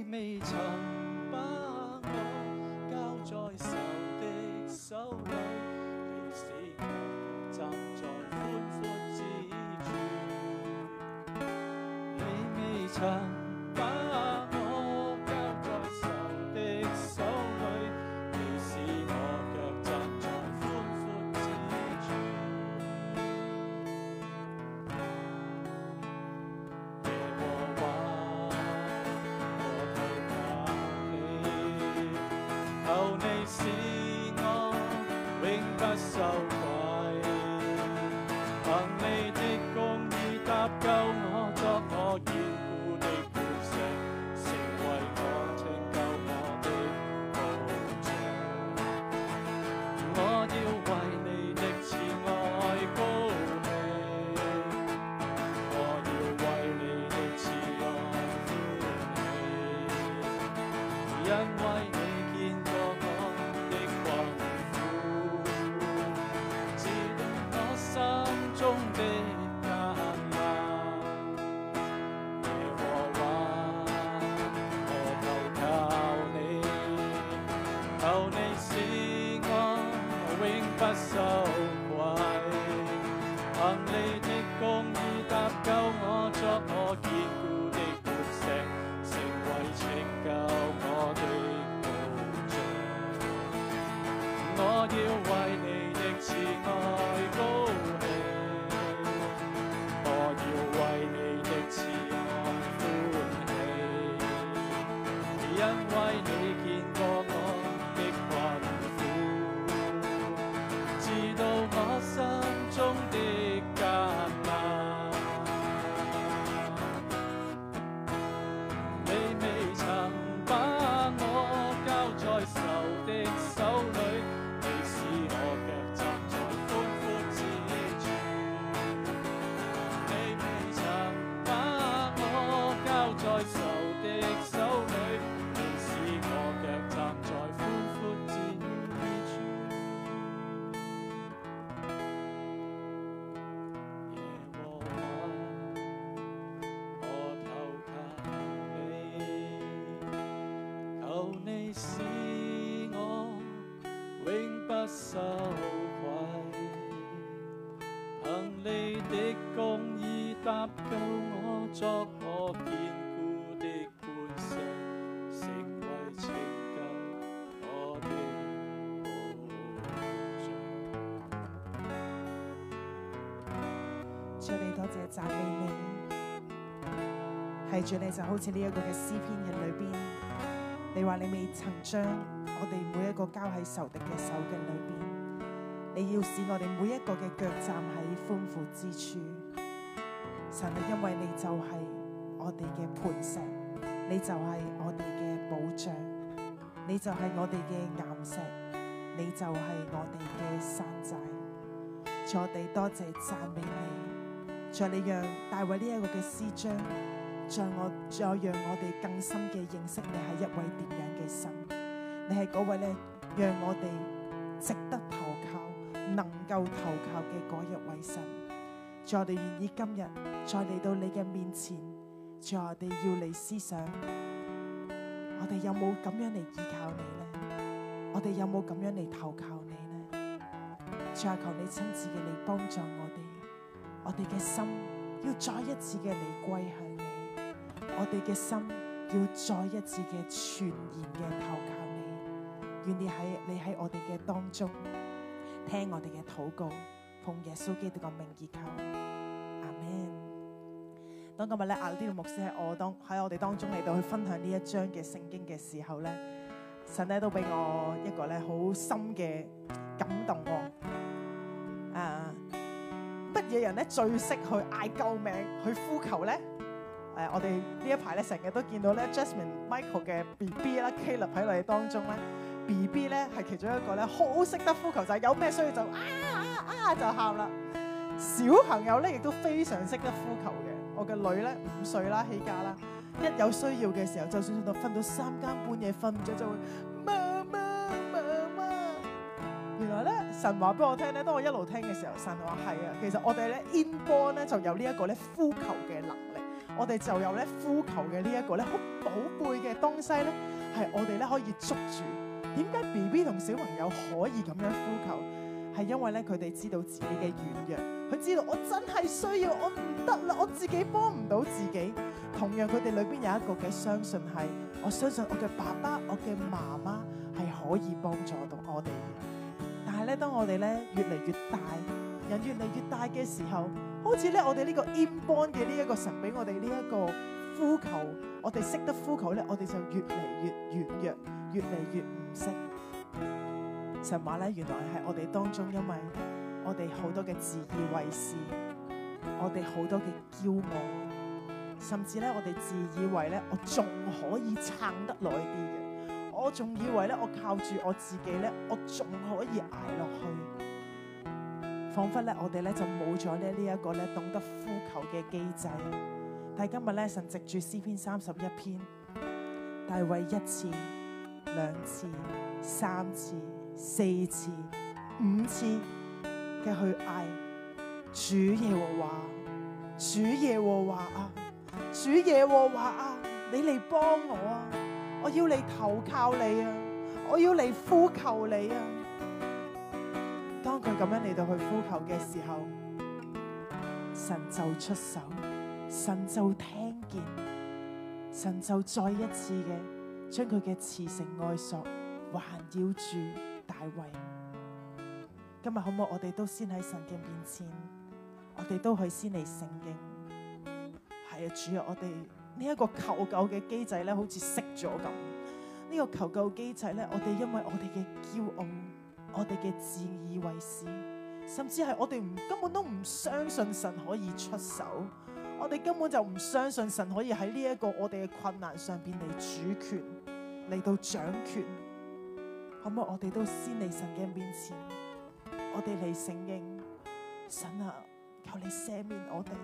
未曾把我交在仇敵手裏，你使我腳站在寬闊之處。你未曾把我交在仇敵手裏，你使我腳站在寬闊之處。耶和華，我投靠你，求你使我永不羞愧，憑你的公義搭救我，作我堅固的磐石，成為我拯救我的保障。我要為你的慈愛高興，我要為你的慈愛歡喜，因為你見過我的困苦，知道我心中的艱難。耶和華，我投靠你，求你使我永不羞愧，憑你的公義搭救我，作我堅固的磐石，成為拯救我的保障。我要為你的慈愛高興，我要為你的慈愛歡喜，因為你見過我的困苦，知道我心中的艱難。你未曾把我交在仇敵手裏，你使我腳站在寬闊之處。你未曾把我交在仇敵手裏，你使我腳站在寬闊之處。耶和華，我投靠你，求你使我永不羞愧，憑你的公義搭救我，作我堅固的磐石，成為拯救我的保障。 主你多謝讚美你，係主你就好似呢一個嘅詩篇嘅裏邊，你話你未曾將我哋每一個交喺仇敵嘅手嘅裏邊，你要使我哋每一個嘅腳站喺寬闊之處。神啊，因為你就係我哋嘅磐石，你就係我哋嘅保障，你就係我哋嘅岩石，你就係我哋嘅山寨。主，我哋多謝讚美你，主，你讓大衛呢一個嘅詩章，再我再讓我哋更深嘅認識你係一位點樣嘅神，你係嗰位咧讓我哋值得投靠、能夠投靠嘅嗰一位神。主，我哋願意今日再嚟到你嘅面前，主，我哋要嚟思想，我哋有冇咁樣嚟依靠你呢？我哋有冇咁樣嚟投靠你呢？主啊，求你親自嘅嚟幫助我哋，我哋嘅心要再一次嘅嚟歸向你，我哋嘅心要再一次嘅全然嘅投靠你。願意喺你喺我哋嘅當中聽我哋嘅禱告，奉耶穌基督嘅名義求，阿們。當今日咧阿呢個牧師喺我當喺我哋當中嚟到去分享呢一章嘅聖經嘅時候咧，神咧都俾我一個咧好深嘅感動喎。啊，乜嘢人咧最識去嗌救命、去呼求咧？誒，我哋呢一排咧成日都見到咧 Jasmine、Michael 嘅 B B 啦 ，Caleb 喺我哋當中咧 ，B B 咧係其中一個咧好識得呼求，就係有咩需要就啊啊啊就喊啦。小朋友咧亦都非常識得呼求嘅。我嘅女咧五歲啦，起家啦，一有需要嘅時候，就算到瞓到三更半夜瞓唔着，就會媽媽媽媽。原來咧神話俾我聽咧，當我一路聽嘅時候，神話係啊，其實我哋咧 inborn 咧就有呢一個咧呼求嘅能力。 我哋就有咧呼求嘅呢一個咧好寶貝嘅東西咧，係我哋咧可以捉住。點解 B B 同小朋友可以咁樣呼求？係因為咧佢哋知道自己嘅軟弱，佢知道我真係需要，我唔得啦，我自己幫唔到自己。同樣佢哋裏邊有一個嘅相信係，我相信我嘅爸爸、我嘅媽媽係可以幫助到我哋嘅。但係咧，當我哋咧越嚟越大，人越嚟越大嘅時候，好似咧我哋呢個 inborn 嘅呢一個神俾我哋呢一個呼求，我哋識得呼求咧，我哋就越嚟越軟弱，越嚟越唔識。神話咧，原來係我哋當中，因為我哋好多嘅自以為是，我哋好多嘅驕傲，甚至咧我哋自以為咧我仲可以撐得耐啲嘅，我仲以為咧我靠住我自己咧，我仲可以捱落去，彷彿咧我哋咧就冇咗咧呢一個咧懂得呼求嘅機制。但係今日咧，神藉住詩篇三十一篇，大衛一次、兩次、三次、四次、五次嘅去嗌主耶和華，主耶和華啊，主耶和華啊，你嚟幫我啊！我要嚟投靠你啊！我要嚟呼求你啊！當佢咁樣嚟到去呼求嘅時候，神就出手，神就聽見，神就再一次嘅將佢嘅慈繩愛索環繞住大衛。今日好唔好？我哋都先喺神嘅面前，我哋都去先嚟承認，係啊，主啊，我哋呢一個求救嘅機制咧，好似熄咗咁。呢、這個求救機制咧，我哋因為我哋嘅驕傲，我哋嘅自以為是，甚至係我哋唔根本都唔相信神可以出手，我哋根本就唔相信神可以喺呢一個我哋嘅困難上邊嚟主權，嚟到掌權。可唔可以我哋都先嚟神嘅面前，我哋嚟承認，神啊，求你赦免我哋，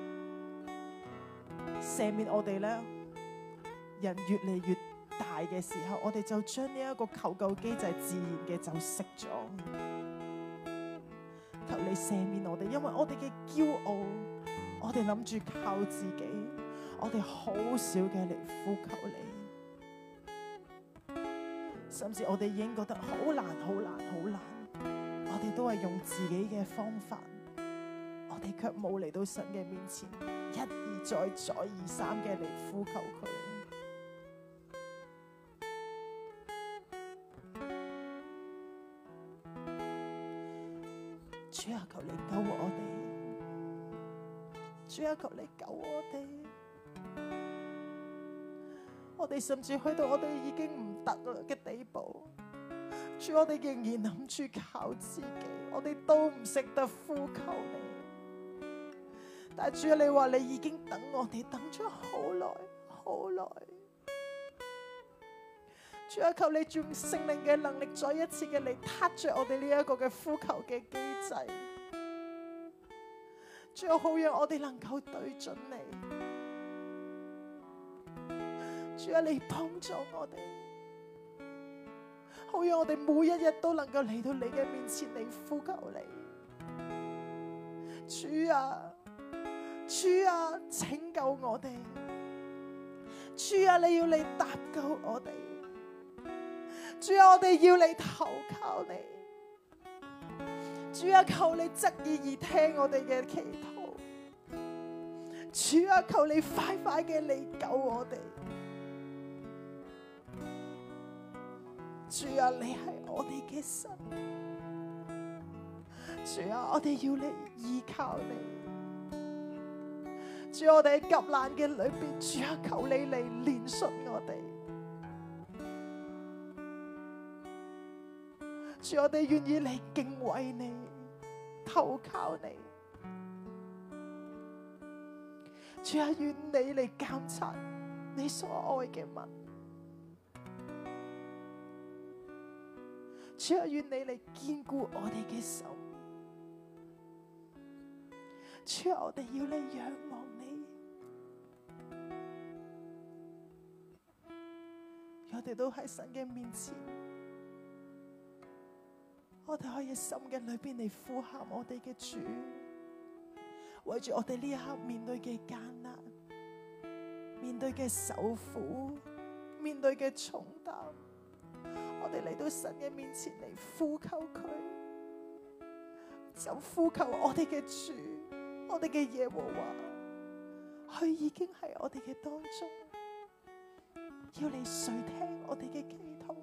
赦免我哋咧。人越嚟越大嘅時候，我哋就將呢一個求救機制自然嘅就熄咗。求你赦免我哋，因為我哋嘅驕傲，我哋諗住靠自己，我哋好少嘅嚟呼求你，甚至我哋已經覺得好難、好難、好難，我哋都係用自己嘅方法，我哋卻冇嚟到神嘅面前，一而再、再而三嘅嚟呼求佢。主啊，求你救我哋！主啊，求你救我哋！我哋甚至去到我哋已經唔得啦嘅地步，主，我哋仍然諗住靠自己，我哋都唔識得呼求你。但係主啊，你話你已經等我哋等咗好耐，好耐。主啊，求你用聖靈嘅能力再一次嘅嚟撻着我哋呢一個嘅呼求嘅機制。主啊，好讓我哋能夠對準你。主啊，你幫助我哋，好讓我哋每一日都能夠嚟到你嘅面前嚟呼求你。主啊，主啊，拯救我哋。主啊，你要嚟搭救我哋。主啊，我哋要你投靠你。主啊，求你側耳而聽我哋嘅祈禱。主啊，求你快快嘅嚟救我哋。主啊，你係我哋嘅神。主啊，我哋要嚟依靠你。主啊，我哋喺急難嘅裏邊，主啊，求你嚟憐恤我哋。主，我哋願意嚟敬畏你，投靠你。主啊，願你嚟監察你所愛嘅民。主啊，願你嚟堅固我哋嘅手。主啊，我哋要嚟仰望你。我哋都喺神嘅面前。我哋可以心嘅裏邊嚟呼喊我哋嘅主，為住我哋呢一刻面對嘅艱難， 面對嘅受苦、面對嘅重擔，我哋嚟到神嘅面前嚟呼求佢，就呼求我哋嘅主，我哋嘅耶和華，佢已經喺我哋嘅當中，要你垂聽我哋嘅祈禱。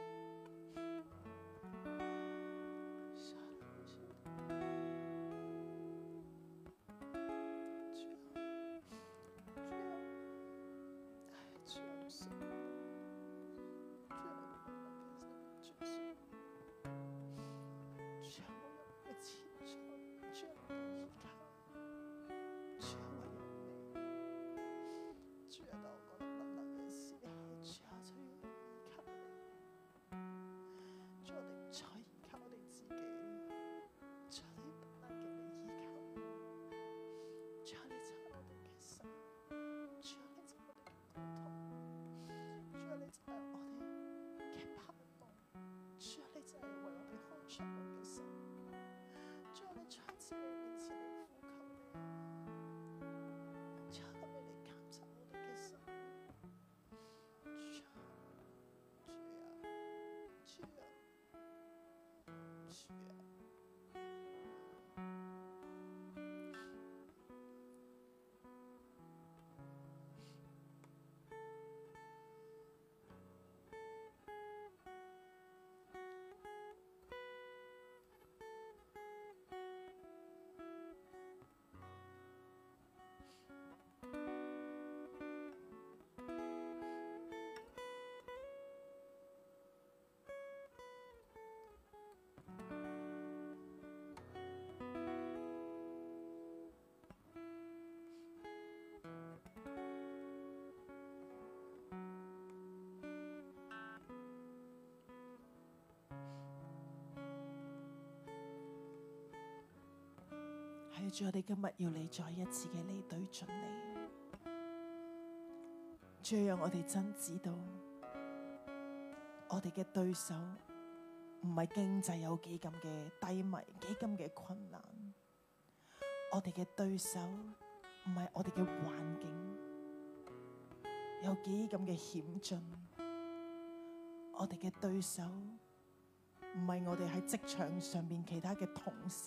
主，我哋今日要你再一次嘅嚟對準你，主，讓我哋真知道，我哋嘅對手唔係經濟有幾咁嘅低迷，幾咁嘅困難，我哋嘅對手唔係我哋嘅環境有幾咁嘅險峻，我哋嘅對手唔係我哋喺職場上邊其他嘅同事。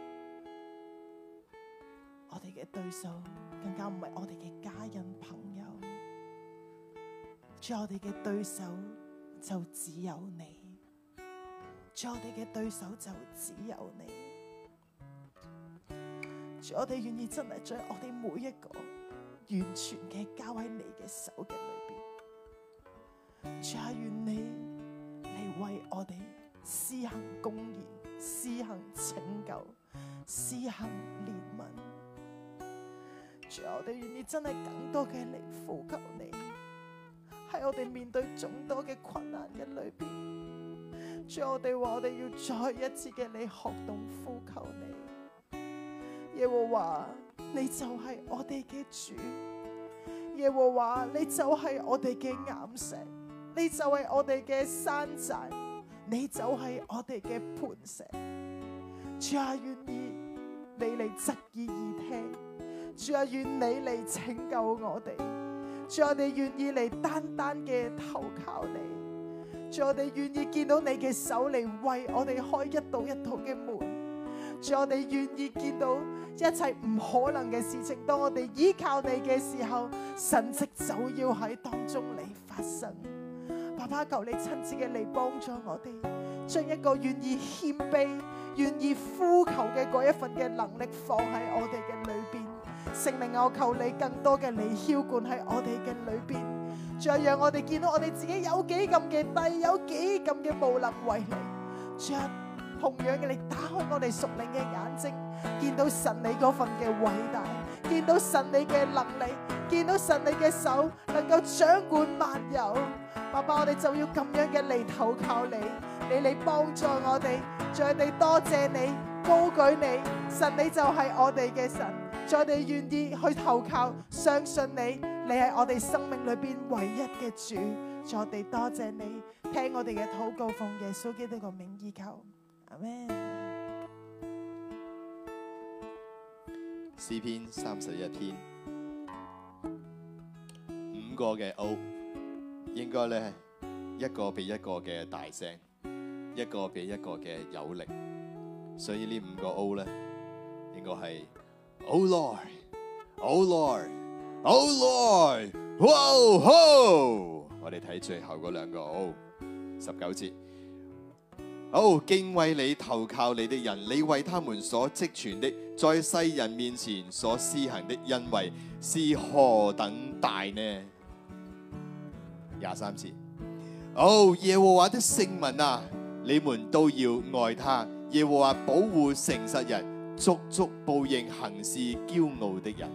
我哋嘅對手更加唔係我哋嘅家人朋友，主，我哋嘅對手就只有你，主，我哋嘅對手就只有你，主，我哋願意真係將我哋每一個完全嘅交喺你嘅手嘅裏邊，主啊，願你嚟為我哋施行公義，施行拯救，施行憐憫。主，我哋願意真係更多嘅嚟呼求你，喺我哋面對眾多嘅困難嘅裏邊，主，我哋話我哋要再一次嘅嚟學懂呼求你。耶和華，你就係我哋嘅主；耶和華，你就係我哋嘅岩石，你就係我哋嘅山寨，你就係我哋嘅磐石。主啊，願意你嚟側耳而聽。主啊，願你嚟拯救我哋，主，我哋願意嚟單單嘅投靠你，主，我哋願意見到你嘅手嚟為我哋開一道一道嘅門，主，我哋願意見到一切唔可能嘅事情，當我哋依靠你嘅時候，神蹟就要喺當中嚟發生。爸爸，求你親自嘅嚟幫助我哋，將一個願意謙卑、願意呼求嘅嗰一份嘅能力放喺我哋嘅裏邊。聖靈，我求你更多嘅嚟澆灌喺我哋嘅裏邊，仲有讓我哋見到我哋自己有幾咁嘅低，有幾咁嘅無能為力。仲有同樣嘅，你打開我哋屬靈嘅眼睛，見到神你嗰份嘅偉大，見到神你嘅能力，見到神你嘅手能夠掌管萬有。爸爸，我哋就要咁樣嘅嚟投靠你，你嚟幫助我哋，仲有我哋多謝你，高舉你，神你就係我哋嘅神。我哋願意去投靠，相信你，你係我哋生命裏邊唯一嘅主。我哋多謝你，聽我哋嘅禱告，奉耶穌基督個名依求，阿們。 詩篇三十一篇五五個嘅 O， 應該咧一個比一個嘅大聲，一個比一個嘅有力。所以呢五個 O 咧，應該係 Oh Lord，Oh Lord，Oh Lord，哇吼！我哋睇最後嗰兩個 O， 十九節。好，敬畏你投靠你的人，你為他們所積存的，在世人面前所施行的恩惠是何等大呢？廿三節。哦，耶和華的聖民啊，你們都要愛他。耶和華保護誠實人，足足報應行事驕傲的人。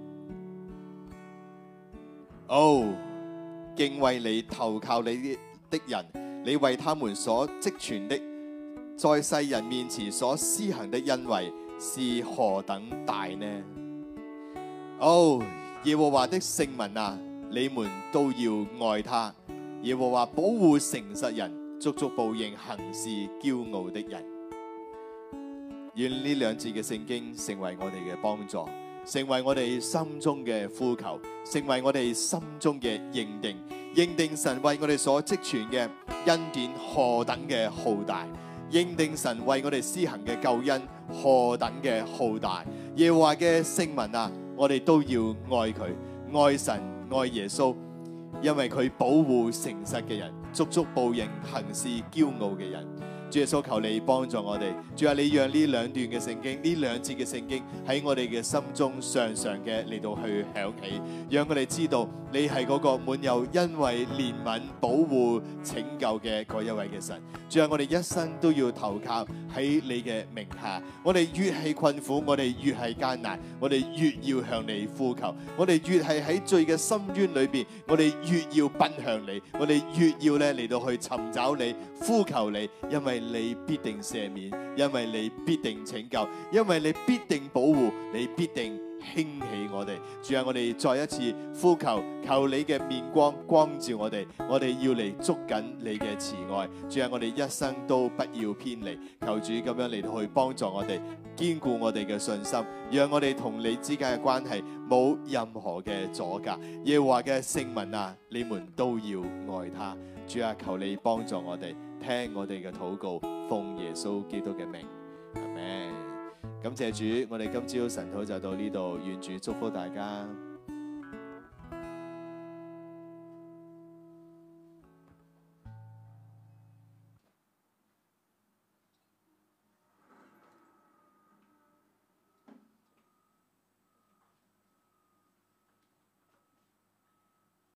哦，敬畏你投靠你的人，你為他們所積存的，在世人面前所施行的恩惠是何等大呢？哦，耶和華的聖民啊，你們都要愛他。耶和華保護誠實人，足足報應行事驕傲的人。願呢兩節嘅聖經成為我哋嘅幫助，成為我哋心中嘅呼求，成為我哋心中嘅認定，認定神為我哋所積存嘅恩典何等嘅浩大，認定神為我哋施行嘅救恩何等嘅浩大。耶和華嘅聖民啊，我哋都要愛佢，愛神，愛耶穌，因為佢保護誠實嘅人，足足報應行事驕傲嘅人。主耶穌，求你幫助我哋。主啊，你讓呢兩段嘅聖經，呢兩節嘅聖經喺我哋嘅心中常常嘅嚟到去響起，讓我哋知道你係嗰個滿有恩惠、憐憫、保護、拯救嘅嗰一位嘅神。主啊，我哋一生都要投靠喺你嘅名下。我哋越係困苦，我哋越係艱難，我哋越要向你呼求。我哋越係喺罪嘅深淵裏邊，我哋越要奔向你。我哋越要咧嚟到去尋找你、呼求你，因為你必定赦免，因為你必定拯救，因為你必定保護，你必定興起我哋。主啊，我哋再一次呼求，求你嘅面光光照我哋，我哋要嚟捉緊你嘅慈愛。主啊，我哋一生都不要偏離，求主咁樣嚟到去幫助我哋，堅固我哋嘅信心，讓我哋同你之間嘅關係冇任何嘅阻隔。耶和華嘅聖民啊，你們都要愛他。主啊，求你幫助我哋，聽我哋嘅禱告，奉耶穌基督嘅名，阿們。感謝主，我哋今朝晨禱就到呢度，願主祝福大家。